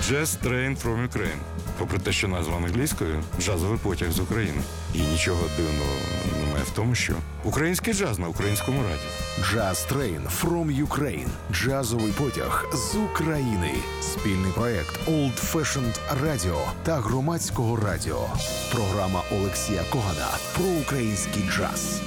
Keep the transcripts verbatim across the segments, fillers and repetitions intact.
Jazz Train from Ukraine. Попри те, що назва англійською, джазовий потяг з України. І нічого дивного немає в тому, що український джаз на українському радіо. Jazz Train from Ukraine. Джазовий потяг з України. Спільний проект Old Fashioned Radio та Громадського радіо. Програма Олексія Когана про український джаз.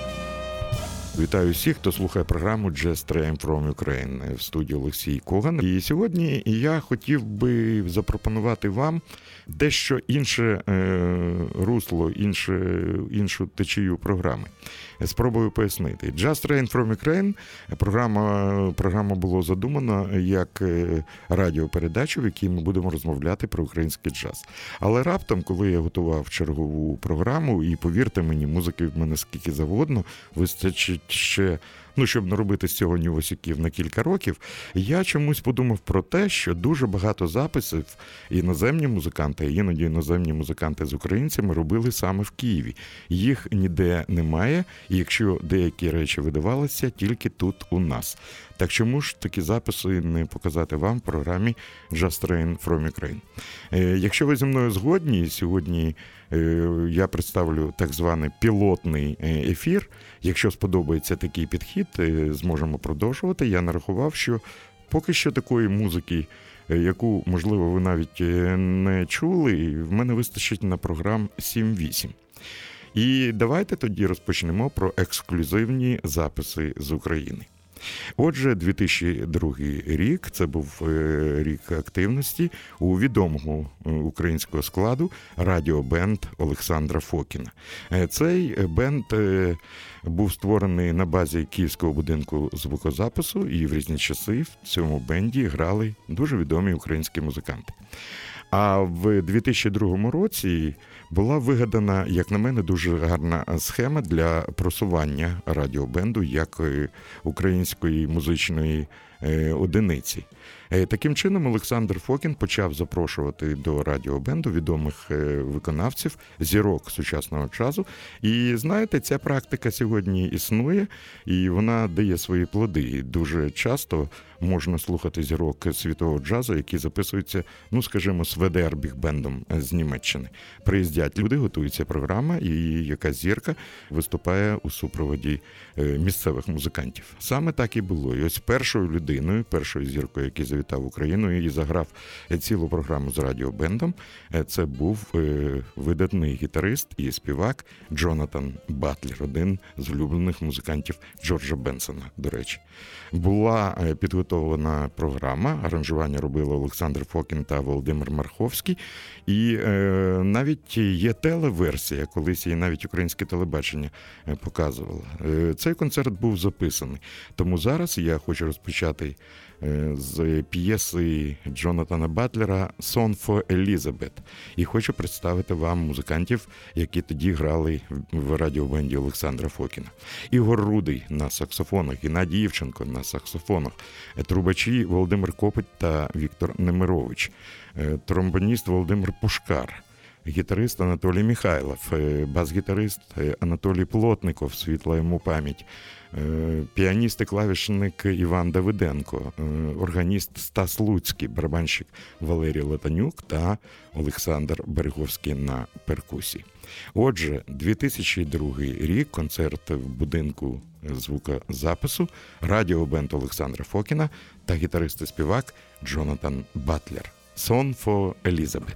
Вітаю всіх, хто слухає програму Jazz Train from Ukraine в студії Олексій Коган. І сьогодні я хотів би запропонувати вам дещо інше е, русло, інше, іншу течію програми. Спробую пояснити. Jazz Train from Ukraine програма, програма було задумано як радіопередачу, в якій ми будемо розмовляти про український джаз. Але раптом, коли я готував чергову програму, і повірте мені, музики в мене скільки завгодно, вистачить ще, ну, щоб наробити з цього нювосиків на кілька років, я чомусь подумав про те, що дуже багато записів іноземні музиканти, іноді іноземні музиканти з українцями робили саме в Києві. Їх ніде немає, і якщо деякі речі видавалися, тільки тут у нас. Так чому ж такі записи не показати вам в програмі Jazz Train from Ukraine? Якщо ви зі мною згодні, сьогодні я представлю так званий пілотний ефір. Якщо сподобається такий підхід, зможемо продовжувати. Я нарахував, що поки що такої музики, яку, можливо, ви навіть не чули, в мене вистачить на програм сім-вісім. І давайте тоді розпочнемо про ексклюзивні записи з України. Отже, дві тисячі другий рік, це був рік активності у відомого українського складу радіобенд Олександра Фокіна. Цей бенд був створений на базі Київського будинку звукозапису, і в різні часи в цьому бенді грали дуже відомі українські музиканти. А в дві тисячі другому році була вигадана, як на мене, дуже гарна схема для просування радіобенду як української музичної одиниці. Таким чином, Олександр Фокін почав запрошувати до радіобенду відомих виконавців, зірок сучасного джазу. І, знаєте, ця практика сьогодні існує, і вона дає свої плоди. І дуже часто можна слухати зірок світового джазу, які записуються, ну, скажімо, з ве де ар-бігбендом з Німеччини. Приїздять люди, готується програма, і якась зірка виступає у супроводі місцевих музикантів. Саме так і було. І ось першою людиною, першою зіркою, який завітав в Україну і заграв цілу програму з радіобендом, це був видатний гітарист і співак Джонатан Батлер, один з улюблених музикантів Джорджа Бенсона, до речі. Була підготовлена програма, аранжування робили Олександр Фокін та Володимир Марховський, і е, навіть є телеверсія, колись її навіть українське телебачення показувало. Е, цей концерт був записаний, тому зараз я хочу розпочати з п'єси Джонатана Батлера «Song for Elizabeth». І хочу представити вам музикантів, які тоді грали в радіобенді Олександра Фокіна. Ігор Рудий на саксофонах, Геннадій Євченко на саксофонах, трубачі Володимир Копить та Віктор Немирович, тромбоніст Володимир Пушкар, гітарист Анатолій Михайлов, бас-гітарист Анатолій Плотников, світла йому пам'ять, піаніст і клавішник Іван Давиденко, органіст Стас Луцький, барабанщик Валерій Латанюк та Олександр Береговський на перкусії. Отже, дві тисячі другий рік, концерт в будинку звукозапису, радіобенд Олександра Фокіна та гітарист і співак Джонатан Батлер. «Song for Elizabeth».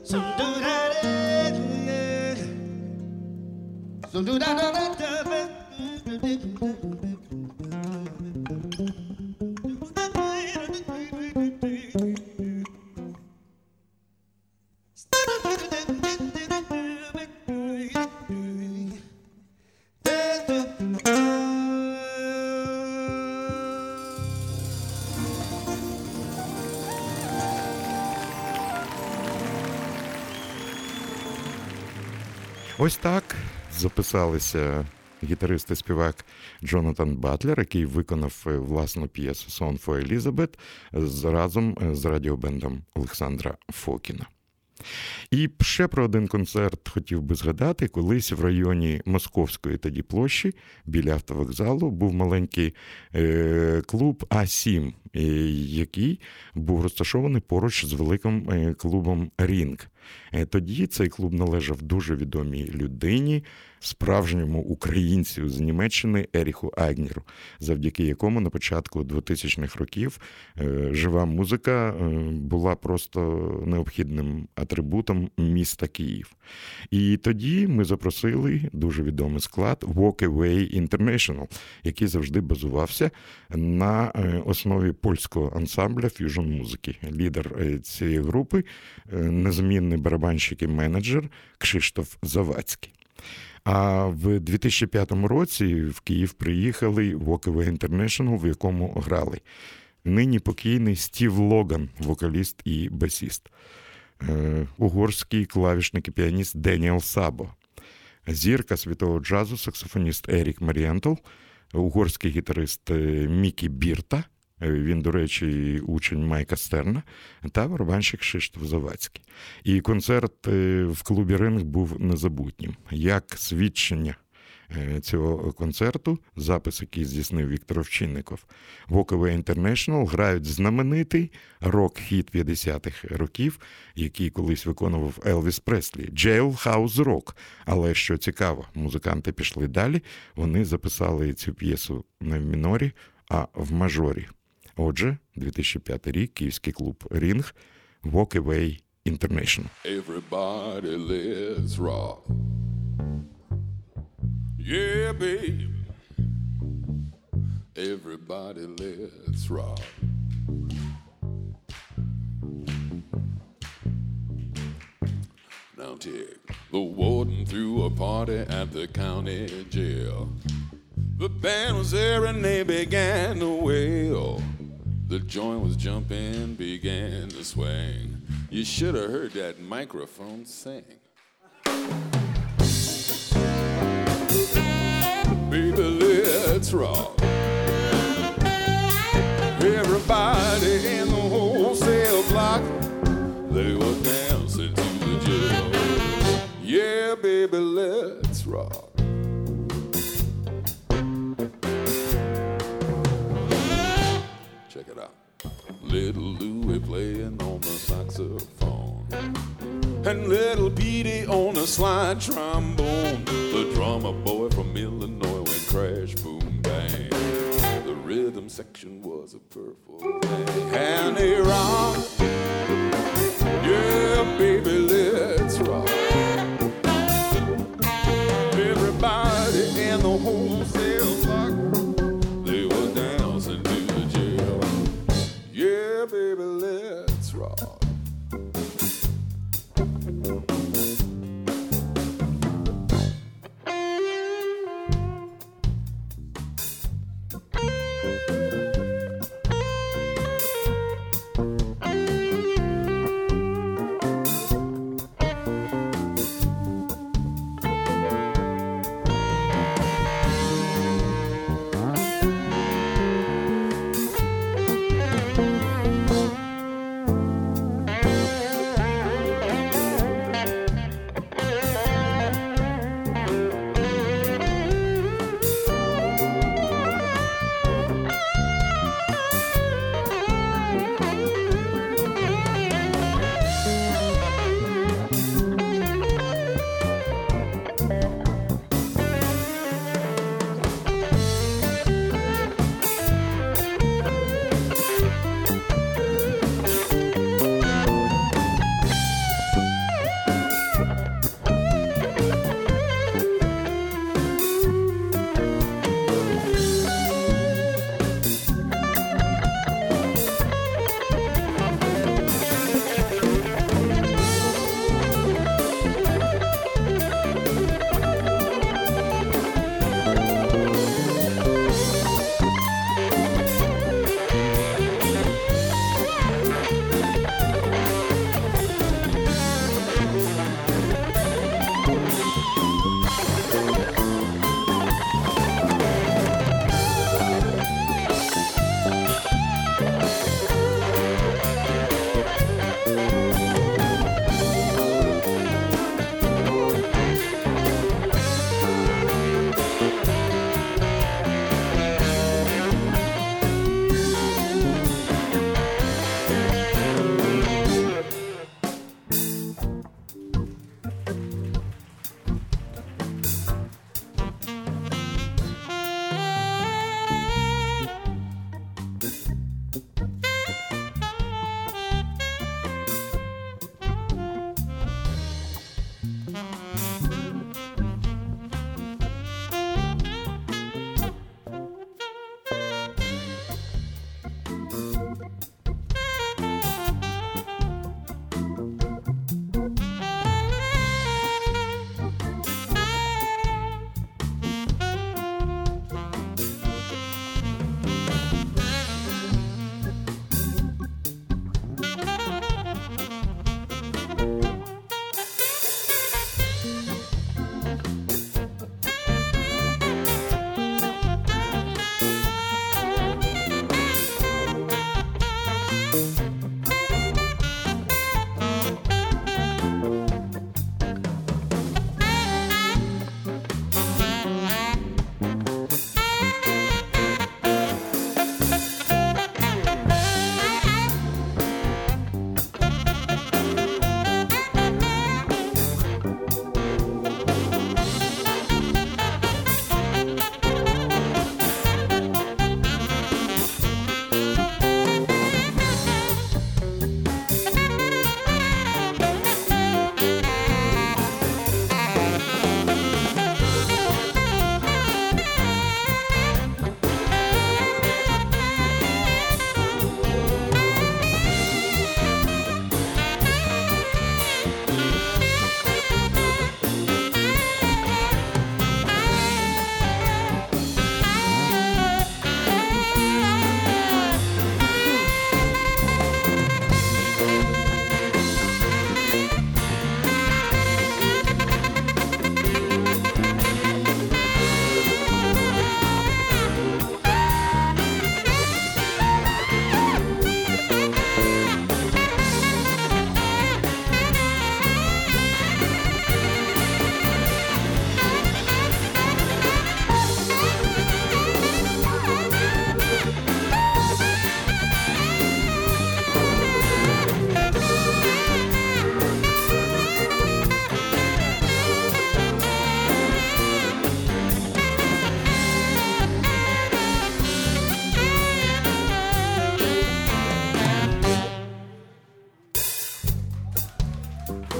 Ось так записалися гітарист і співак Джонатан Батлер, який виконав власну п'єсу «Song for Elizabeth» разом з радіобендом Олександра Фокіна. І ще про один концерт хотів би згадати. Колись в районі Московської тоді площі, біля автовокзалу, був маленький е, клуб А сім, е, який був розташований поруч з великим е, клубом «Рінг». Е, тоді цей клуб належав дуже відомій людині, справжньому українцю з Німеччини Еріху Айгнеру, завдяки якому на початку двотисячних років е, жива музика е, була просто необхідним атрибутом міста Київ. І тоді ми запросили дуже відомий склад Walk Away International, який завжди базувався на основі польського ансамбля ф'южн-музики. Лідер цієї групи – незамінний барабанщик і менеджер Кшиштоф Завадський. А в дві тисячі п'ятому році в Київ приїхали Walk Away International, в якому грали нині покійний Стів Логан, вокаліст і басіст, угорський клавішник і піаніст Деніел Сабо, зірка світового джазу, саксофоніст Ерік Марієнтл, угорський гітарист Мікі Бірта, він, до речі, учень Майка Стерна, та барабанщик Кшиштоф Завадський. І концерт в клубі «Ринг» був незабутнім. Як свідчення цього концерту, запис, який здійснив Віктор Овчинников, Walk Away International грають знаменитий рок-хіт п'ятдесятих років, який колись виконував Елвіс Преслі, Jailhouse Rock. Але, що цікаво, музиканти пішли далі, вони записали цю п'єсу не в мінорі, а в мажорі. Отже, дві тисячі п'ятий рік, київський клуб «Рінг», Walk Away International. Everybody let's rock. Yeah, baby. Everybody let's rock. Now take the warden threw a party at the county jail. The band was there and they began to wail. The joint was jumping, began to swing. You should have heard that microphone sing. Baby, let's rock. Everybody in the wholesale block, they were dancing to the jail. Yeah, baby, let's rock. Check it out. Little Louie playing on the saxophone, and little Petey on the slide trombone. The drummer boy from Illinois went crash, boom, bang. The rhythm section was a purple thing. And they rock. Yeah, baby, let's rock. Everybody in the wholesale block, they were dancing to the jail. Yeah, baby, let's rock.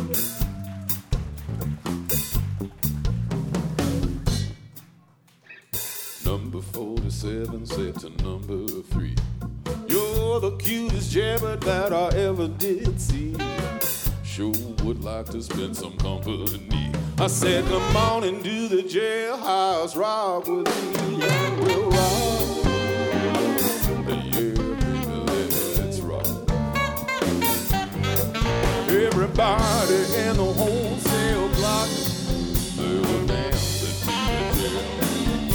Number forty-seven said to number three, you're the cutest jabbert that I ever did see. Sure would like to spend some company. I said, come on and do the jailhouse rock with me. And we'll rock. Yeah, baby, let's rock. Everybody in the wholesale block, they were dancing to the jail.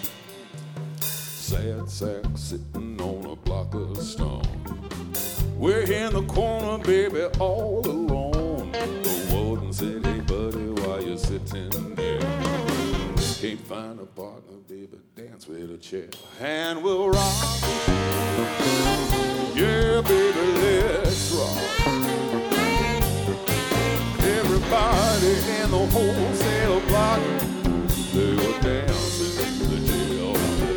Sad sack sitting on a block of stone. We're in the corner, baby, all alone. The warden said, hey, buddy, why you sitting there? Can't find a partner, baby, dance with a chair. And we'll rock. Yeah, baby, let's rock. Everybody in the wholesale block, they were dancing to the jail.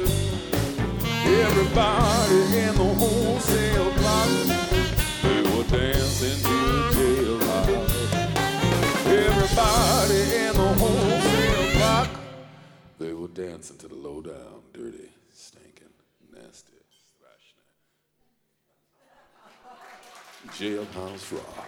Everybody in the wholesale block, they were dancing to the jailhouse. Everybody in the wholesale block, they were dancing to the low down, dirty, stinking, nasty, thrashing jailhouse rock.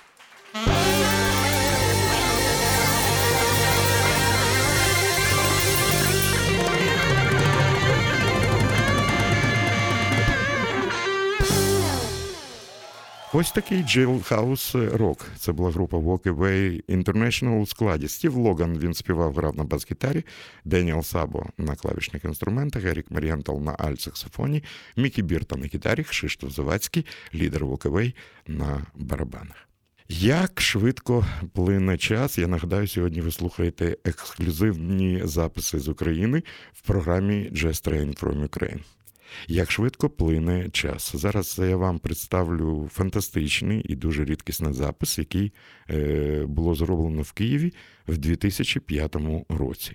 Ось такий Jailhouse Rock. Це була група Walk Away International у складі. Стів Логан, він співав, грав на бас-гітарі, Деніел Сабо на клавішних інструментах, Ерік Марієнтал на альт-саксофоні, Мікі Бірта на гітарі, Кшиштоф Завадський, лідер Walk Away, на барабанах. Як швидко плине час, я нагадаю, сьогодні ви слухаєте ексклюзивні записи з України в програмі Jazz Train from Ukraine. Як швидко плине час. Зараз я вам представлю фантастичний і дуже рідкісний запис, який е, було зроблено в Києві в дві тисячі п'ятому році.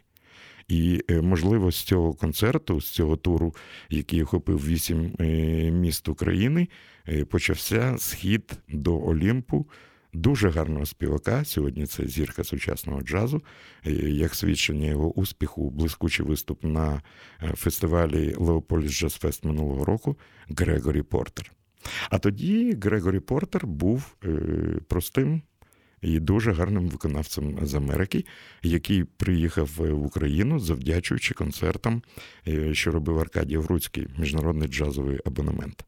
І, е, можливо, з цього концерту, з цього туру, який охопив вісім е, міст України, е, почався схід до Олімпу дуже гарного співака. Сьогодні це зірка сучасного джазу. Як свідчення його успіху, блискучий виступ на фестивалі Леополіс Джаз Фест минулого року Грегорі Портер. А тоді Грегорі Портер був е, простим і дуже гарним виконавцем з Америки, який приїхав в Україну, завдячуючи концертам, що робив Аркадій Вруцький, міжнародний джазовий абонемент.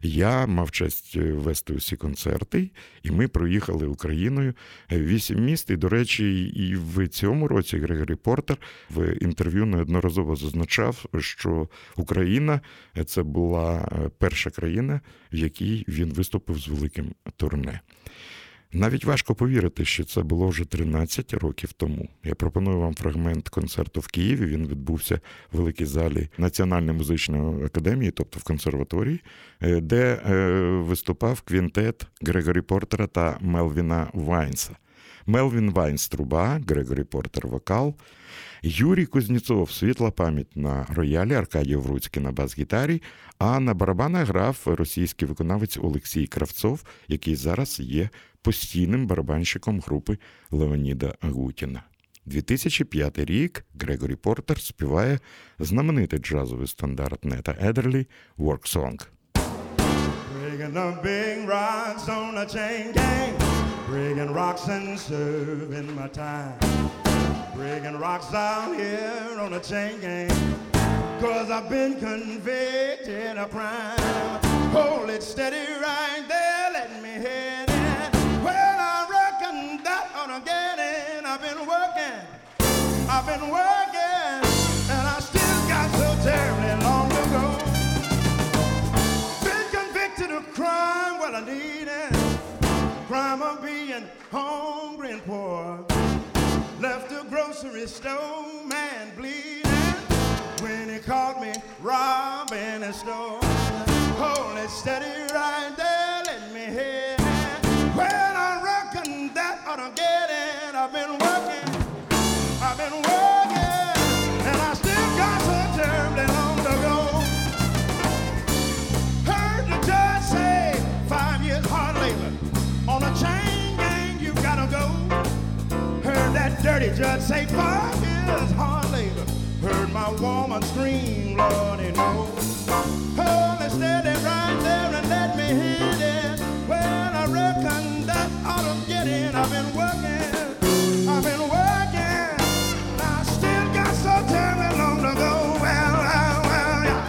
Я мав честь вести усі концерти, і ми проїхали Україною вісім міст. І, до речі, і в цьому році Грегорі Портер в інтерв'ю неодноразово зазначав, що Україна – це була перша країна, в якій він виступив з великим турне. Навіть важко повірити, що це було вже тринадцять років тому. Я пропоную вам фрагмент концерту в Києві. Він відбувся в великій залі Національної музичної академії, тобто в консерваторії, де виступав квінтет Грегорі Портера та Мелвіна Вайнса. Мелвін Вайнс – труба, Грегорі Портер – вокал, Юрій Кузнєцов – світла пам'ять на роялі, Аркадій Вруцький на бас-гітарі, а на барабанах грав російський виконавець Олексій Кравцов, який зараз є постійним барабанщиком групи Леоніда Агутіна. дві тисячі п'ятий рік Грегорі Портер співає знаменитий джазовий стандарт Нета Едерлі «Work Song». Breaking the big rocks on a chain gang, breaking rocks and serving my time. Breaking rocks out here on a chain gang, cause I've been convicted of crime. Hold it steady right there, let me hit it. Well, I reckon that ought to get it. I've been working, I've been working, and I still got so terribly long to go. Been convicted of crime, well I need it. Crime of being hungry and poor. Left the grocery store, man bleeding, when he caught me robbing a store. Hold it steady right there, let me hit it. Well, I reckon that ought to get it. I've been working, I've been working, and I still got so terribly long to go. Heard the judge say five years hard labor on a chain gang, you gotta go. Heard a judge say five years hard labor. Heard my woman scream, Lord, you know. Hold it steady right there and let me hit it. Well, I reckon that ought to get in. I've been working, I've been working. I still got so terribly long to go. Well, well, well, yeah.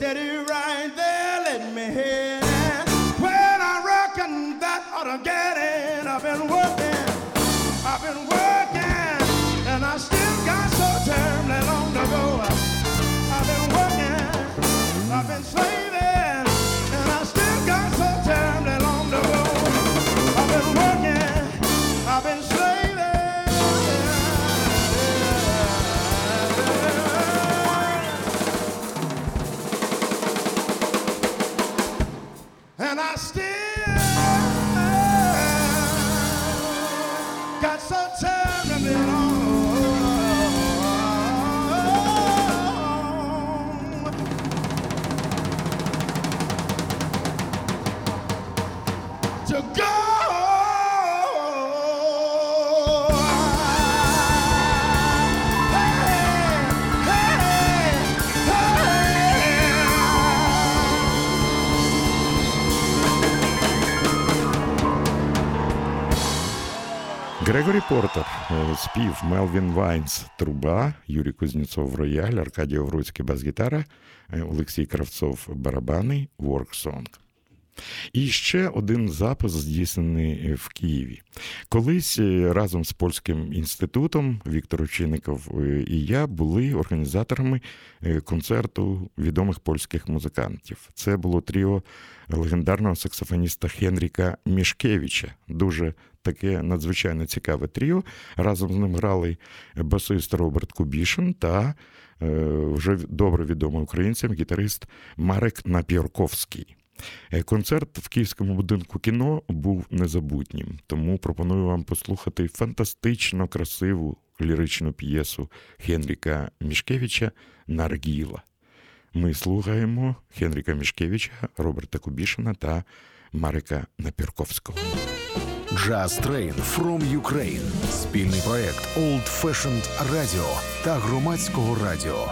Get it. I've been working, I've been working, and I still got so terribly long to go. I've been working, I've been slaving, and I still got so terribly long to go. I've been working, I've been slaving, and I still got so terribly long to go. Грегорі Портер, спів, Мелвін Вайнс – труба, Юрій Кузнєцов – рояль, Аркадій Овруцький – бас-гітара, Олексій Кравцов – барабани, ворк-сонг. І ще один запис здійснений в Києві. Колись разом з Польським інститутом Віктор Очинников і я були організаторами концерту відомих польських музикантів. Це було тріо легендарного саксофоніста Хенріка Мішкевича. Дуже таке надзвичайно цікаве тріо. Разом з ним грали басист Роберт Кубішин та вже добре відомий українцям гітарист Марек Напірковський. Концерт в Київському будинку кіно був незабутнім, тому пропоную вам послухати фантастично красиву ліричну п'єсу Хенріка Мішкевича «Наргіла». Ми слухаємо Хенріка Мішкевича, Роберта Кубішина та Марека Напірковського. Jazz Train from Ukraine – спільний проект Old Fashioned Radio та Громадського радіо.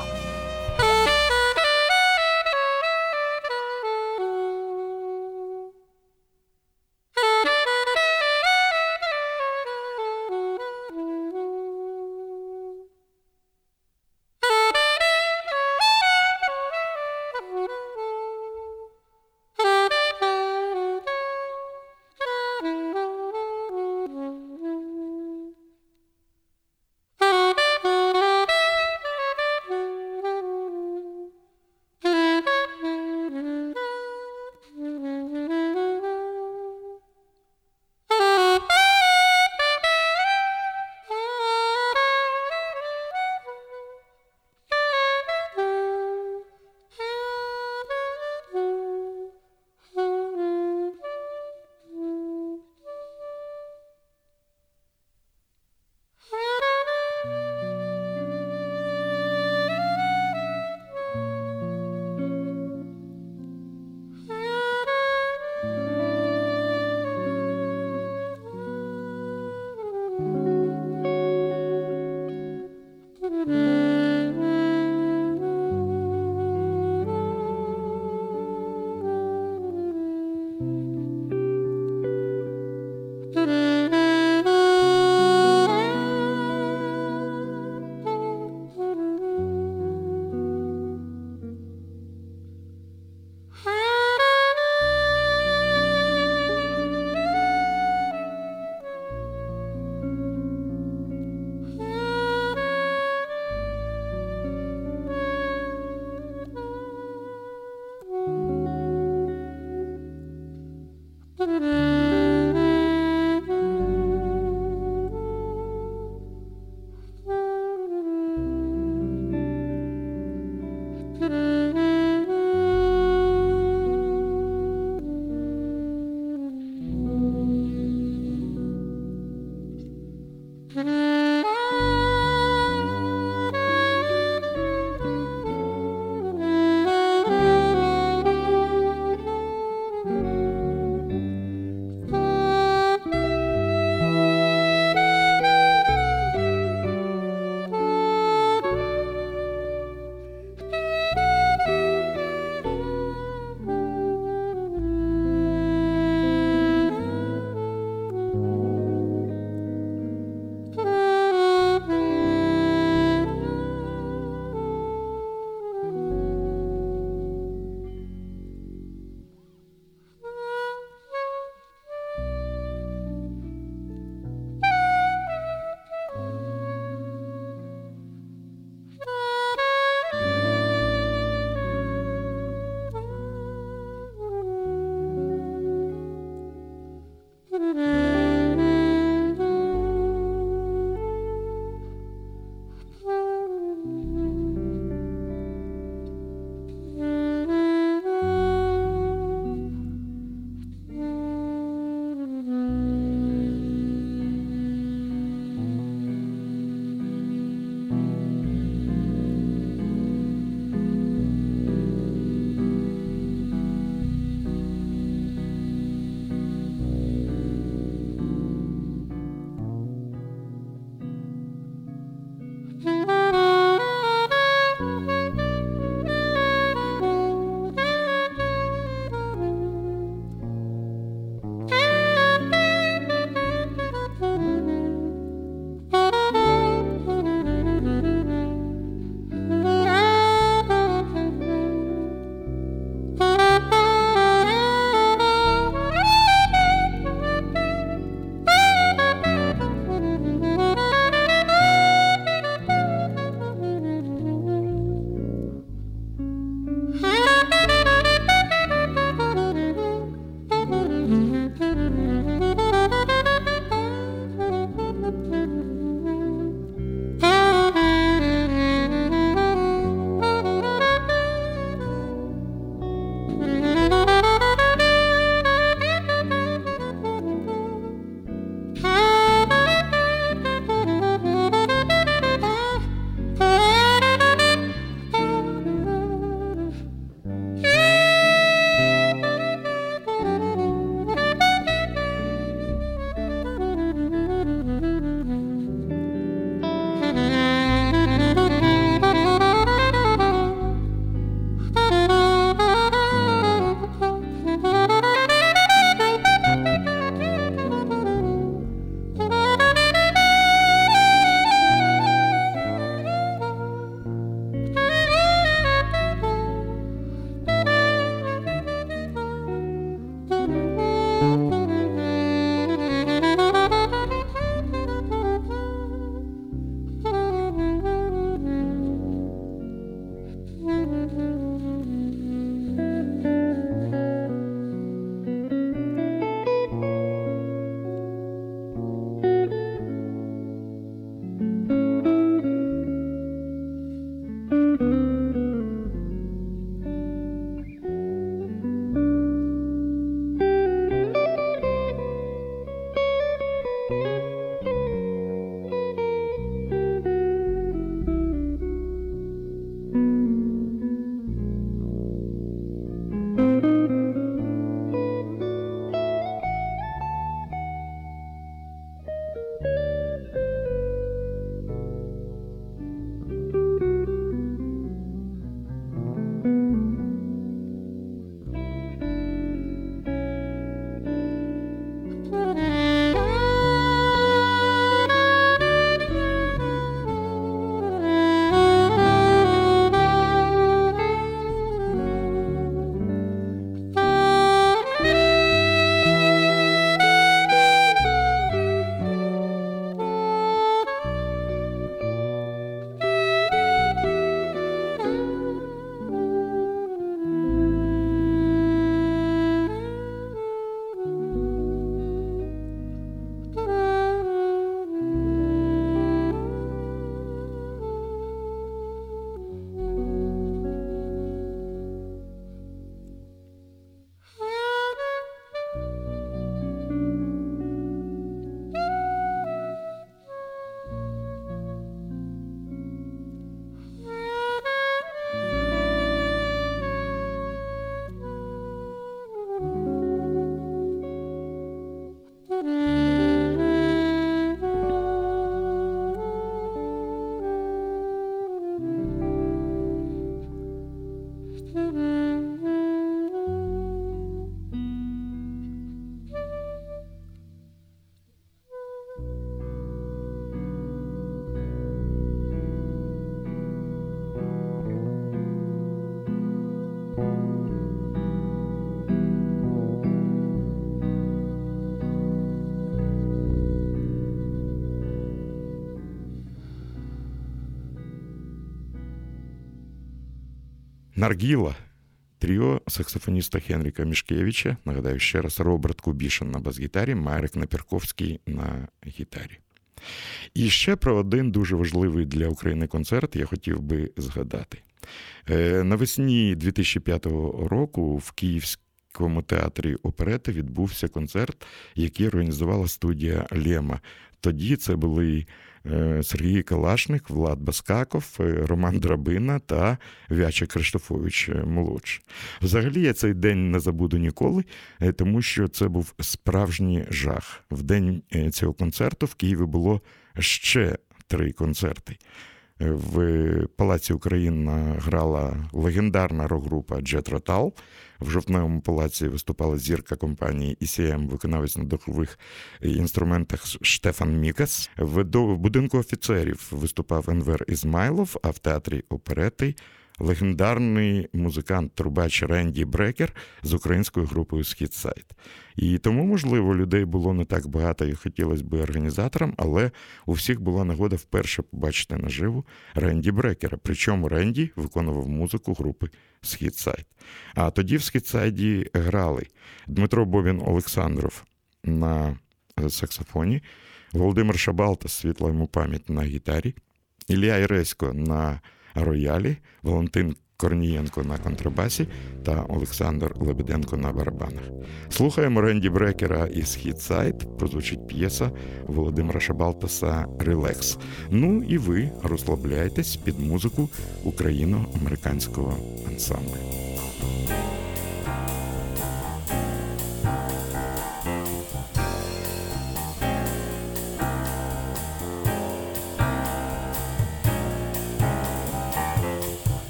Наргіла. Тріо саксофоніста Хенріка Мішкевича, нагадаю ще раз, Роберт Кубішин на бас-гітарі, Марек Наперковський на гітарі. І ще про один дуже важливий для України концерт я хотів би згадати. Навесні дві тисячі п'ятого року в Київському театрі оперети відбувся концерт, який організувала студія «Лема». Тоді це були Сергій Калашник, Влад Баскаков, Роман Драбина та Вяче Криштофович-молодший. Взагалі я цей день не забуду ніколи, тому що це був справжній жах. В день цього концерту в Києві було ще три концерти. В Палаці Україна грала легендарна рок-група Джетро Тал. В Жовтневому палаці виступала зірка компанії і сі ем, виконавець на духових інструментах Штефан Мікас. В будинку офіцерів виступав Енвер Ізмайлов, а в театрі оперети легендарний музикант-трубач Ренді Брекер з українською групою «Східсайд». І тому, можливо, людей було не так багато, як хотілося б організаторам, але у всіх була нагода вперше побачити наживу Ренді Брекера. Причому Ренді виконував музику групи «Східсайд». А тоді в «Східсайді» грали Дмитро Бобін-Олександров на саксофоні, Володимир Шабалта, світла йому пам'ять, на гітарі, Ілля Іресько на роялі, Валентин Корнієнко на контрабасі та Олександр Лебеденко на барабанах. Слухаємо Ренді Брекера із «Східсайд», прозвучить п'єса Володимира Шабалтаса «Релакс». Ну і ви розслабляйтесь під музику україно-американського ансамблю.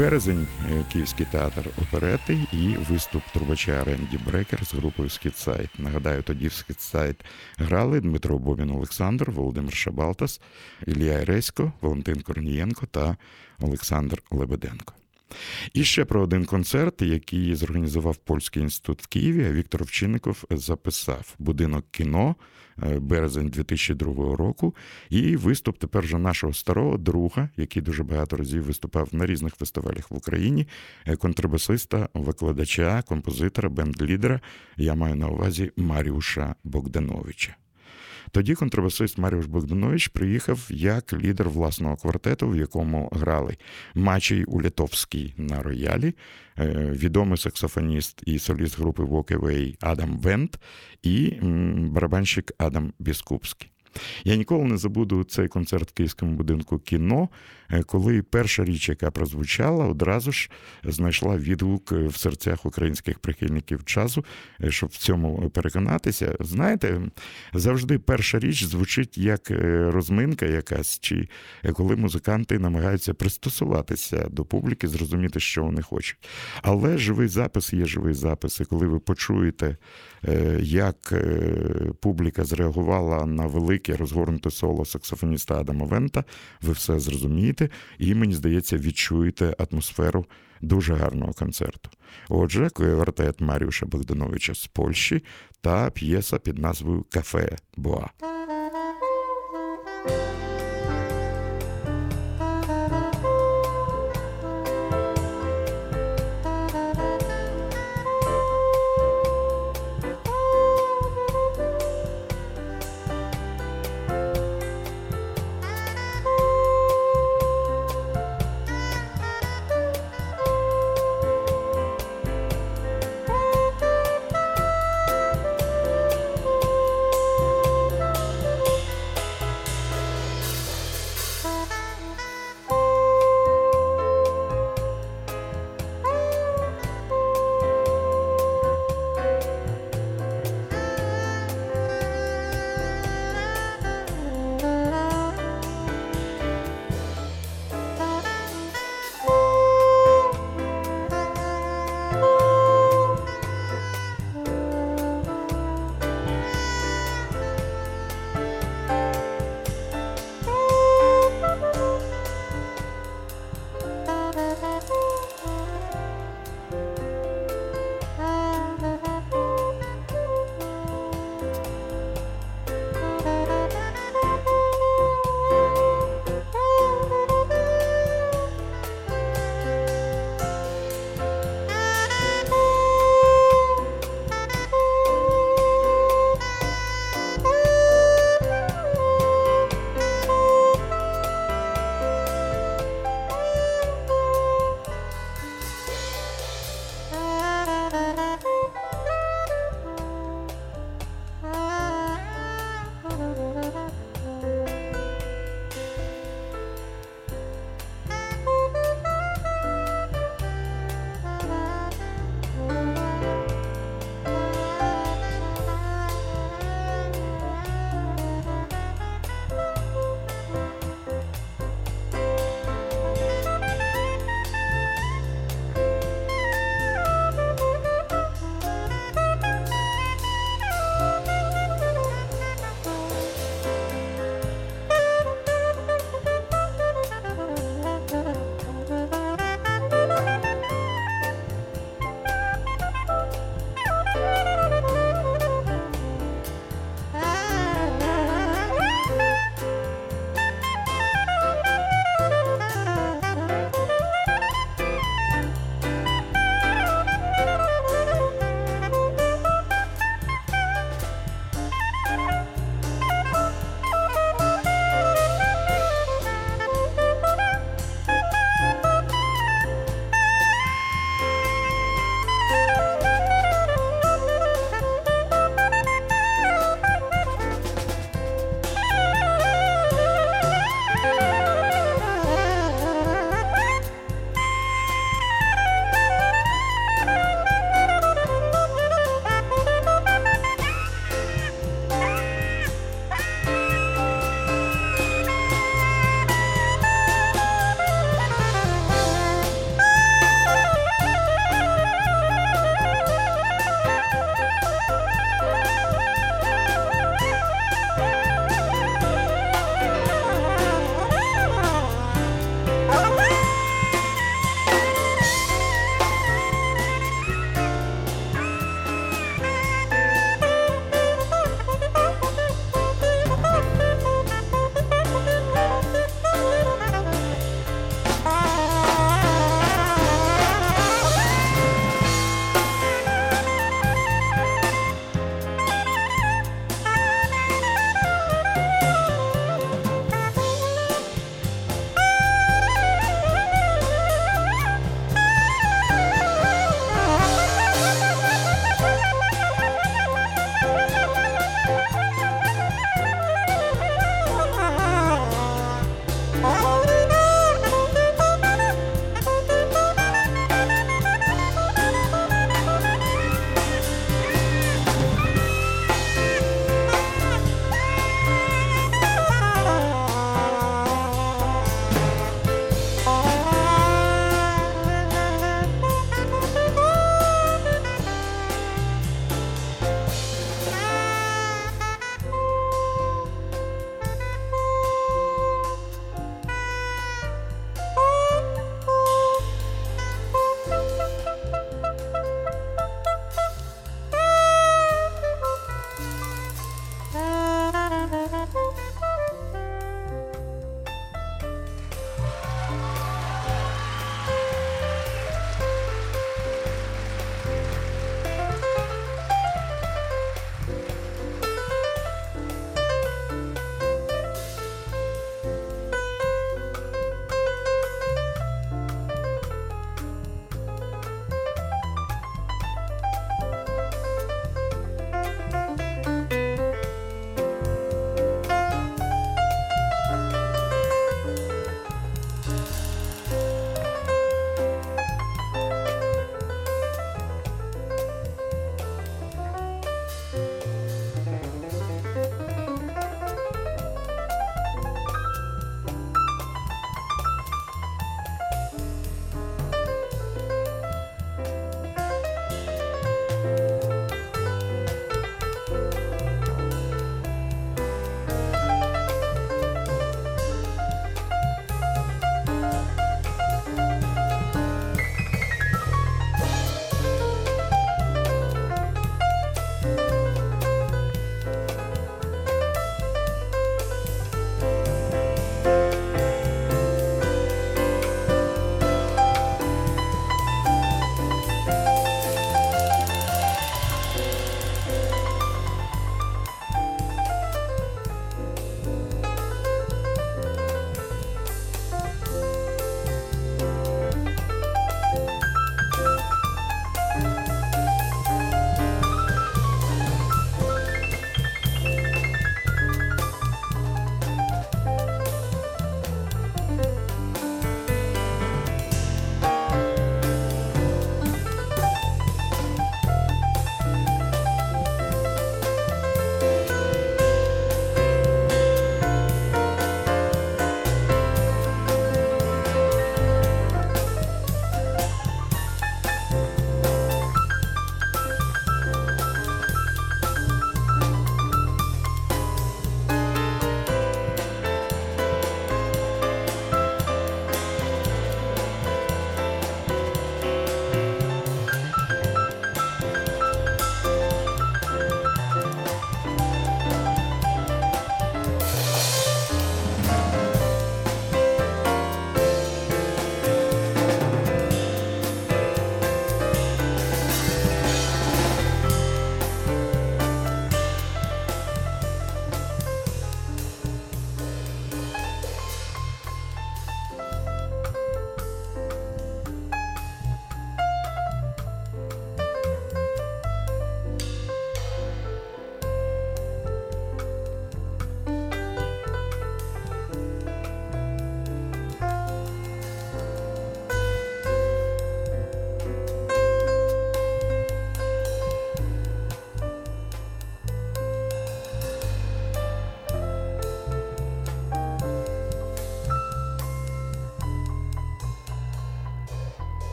Березень – Київський театр оперети і виступ трубача Ренді Брекер з групою «Східсайд». Нагадаю, тоді в «Східсайд» грали Дмитро Бобін Олександр, Володимир Шабалтас, Ілля Ересько, Валентин Корнієнко та Олександр Лебеденко. І ще про один концерт, який зорганізував Польський інститут в Києві, а Віктор Овчинников записав «Будинок кіно», березень дві тисячі другого року, і виступ тепер вже нашого старого друга, який дуже багато разів виступав на різних фестивалях в Україні, контрабасиста, викладача, композитора, бенд-лідера, я маю на увазі Маріуша Богдановича. Тоді контрабасист Маріуш Богданович приїхав як лідер власного квартету, в якому грали Мачій Улітовський на роялі, відомий саксофоніст і соліст групи Walk Away Адам Вент і барабанщик Адам Біскупський. Я ніколи не забуду цей концерт в Київському будинку кіно, коли перша річ, яка прозвучала, одразу ж знайшла відгук в серцях українських прихильників джазу, щоб в цьому переконатися. Знаєте, завжди перша річ звучить як розминка якась, чи коли музиканти намагаються пристосуватися до публіки, зрозуміти, що вони хочуть. Але живий запис є живий запис, і коли ви почуєте, як публіка зреагувала на велике розгорнуте соло саксофоніста Адама Вента, ви все зрозумієте і, мені здається, відчуєте атмосферу дуже гарного концерту. Отже, квартет Маріуша Богдановича з Польщі та п'єса під назвою «Кафе Боа».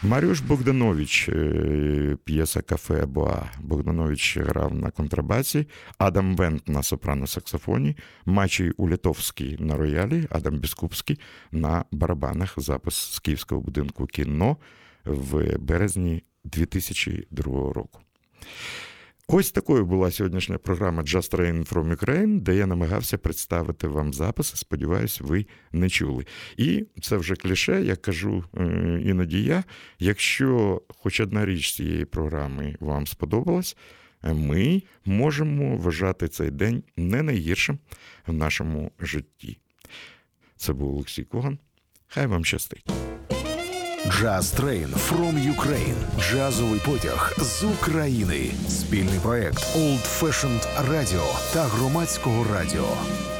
Маріуш Богданович, п'єса «Кафе Боа». Богданович грав на контрабасі, Адам Вент на сопрано-саксофоні, Мачій Улятовський на роялі, Адам Біскупський на барабанах. Запис з Київського будинку кіно в березні дві тисячі другого року. Ось такою була сьогоднішня програма Just Train from Ukraine, де я намагався представити вам записи. Сподіваюсь, ви не чули. І це вже кліше, як кажу іноді я. Якщо хоч одна річ цієї програми вам сподобалась, ми можемо вважати цей день не найгіршим в нашому житті. Це був Олексій Коган. Хай вам щастить. Jazz Train from Ukraine. Джазовий потяг з України. Спільний проект Old Fashioned Radio та Громадського радіо.